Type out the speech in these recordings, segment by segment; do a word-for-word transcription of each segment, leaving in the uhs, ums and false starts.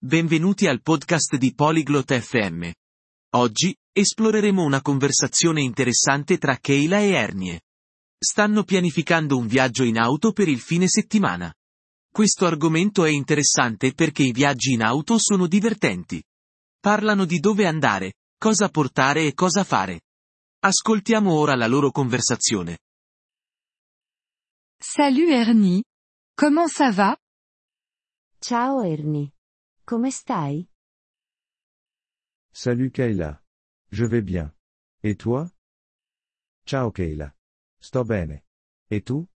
Benvenuti al podcast di Polyglot F M. Oggi, esploreremo una conversazione interessante tra Kayla e Ernie. Stanno pianificando un viaggio in auto per il fine settimana. Questo argomento è interessante perché i viaggi in auto sono divertenti. Parlano di dove andare, cosa portare e cosa fare. Ascoltiamo ora la loro conversazione. Salut Ernie. Comment ça va? Ciao Ernie. Come stai? Salut Kayla. Je vais bien. Et toi? Ciao Kayla. Sto bene. Et tu?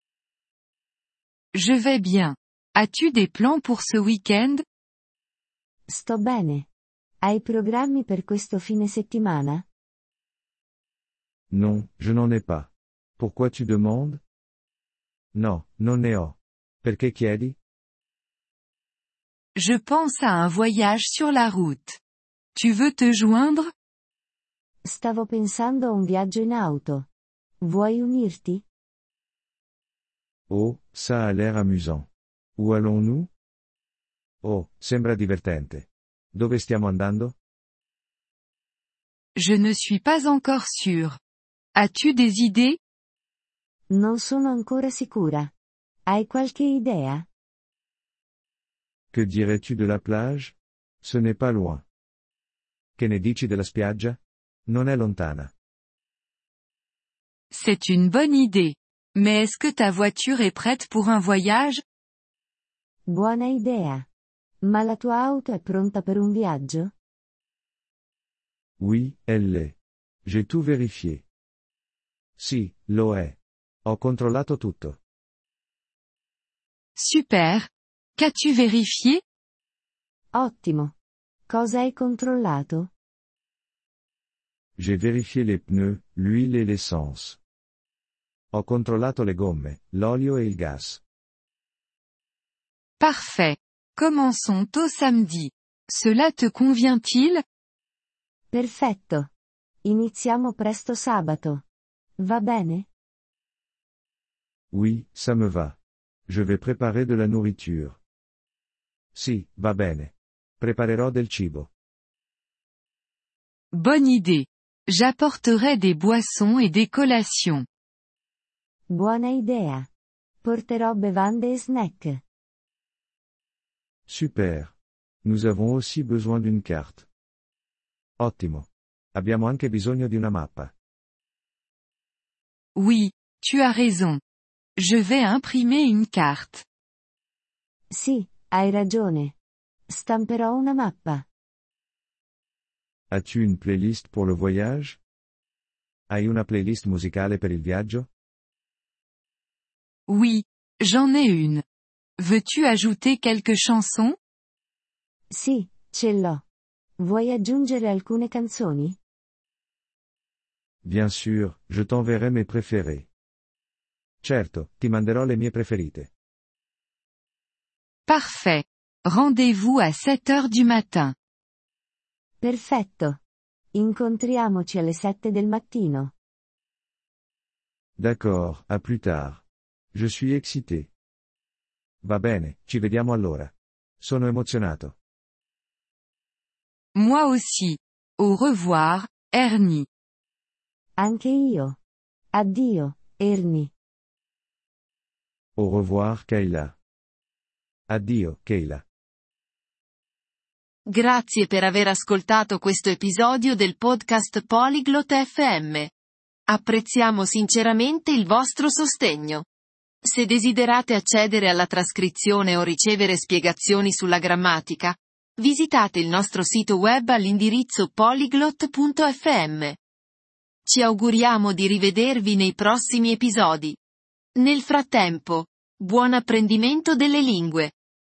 Je vais bien. As-tu des plans pour ce week-end? Sto bene. Hai programmi per questo fine settimana? Non, je n'en ai pas. Pourquoi tu demandes? No, non ne ho. Perché chiedi? Je pense à un voyage sur la route. Tu veux te joindre? Stavo pensando a un viaggio in auto. Vuoi unirti? Oh, ça a l'air amusant. Où allons-nous? Oh, sembra divertente. Dove stiamo andando? Je ne suis pas encore sûre. As-tu des idées? Non sono ancora sicura. Hai qualche idea? Que dirais-tu de la plage? Ce n'est pas loin. Che ne dici della spiaggia? Non è lontana. C'est une bonne idée. Mais est-ce que ta voiture est prête pour un voyage? Buona idea. Ma la tua auto è pronta per un viaggio? Oui, elle l'est. J'ai tout vérifié. Sì, lo è. Ho controllato tutto. Super. Qu'as-tu vérifié? Ottimo. Cosa hai controllato? J'ai vérifié les pneus, l'huile et l'essence. Ho controllato le gomme, l'olio e il gas. Parfait. Commençons au samedi. Cela te convient-il? Perfetto. Iniziamo presto sabato. Va bene? Oui, ça me va. Je vais préparer de la nourriture. Sì, va bene. Preparerò del cibo. Bonne idée. J'apporterai des boissons et des collations. Buona idea. Porterò bevande e snack. Super. Nous avons aussi besoin d'une carte. Ottimo. Abbiamo anche bisogno di una mappa. Oui, tu as raison. Je vais imprimer une carte. Sì, hai ragione. Stamperò una mappa. As-tu une playlist pour le voyage? Hai una playlist musicale per il viaggio? Oui, j'en ai une. Veux-tu ajouter quelques chansons? Sì, ce l'ho. Vuoi aggiungere alcune canzoni? Bien sûr, je t'enverrai mes préférés. Certo, ti manderò le mie preferite. Parfait. Rendez-vous à sept heures du matin. Perfetto. Incontriamoci alle sette del mattino. D'accord, à plus tard. Je suis excité. Va bene, ci vediamo allora. Sono emozionato. Moi aussi. Au revoir, Ernie. Anche io. Addio, Ernie. Au revoir Kayla. Addio, Kayla. Grazie per aver ascoltato questo episodio del podcast Polyglot F M. Apprezziamo sinceramente il vostro sostegno. Se desiderate accedere alla trascrizione o ricevere spiegazioni sulla grammatica, visitate il nostro sito web all'indirizzo polyglot punto f m. Ci auguriamo di rivedervi nei prossimi episodi. Nel frattempo, buon apprendimento delle lingue!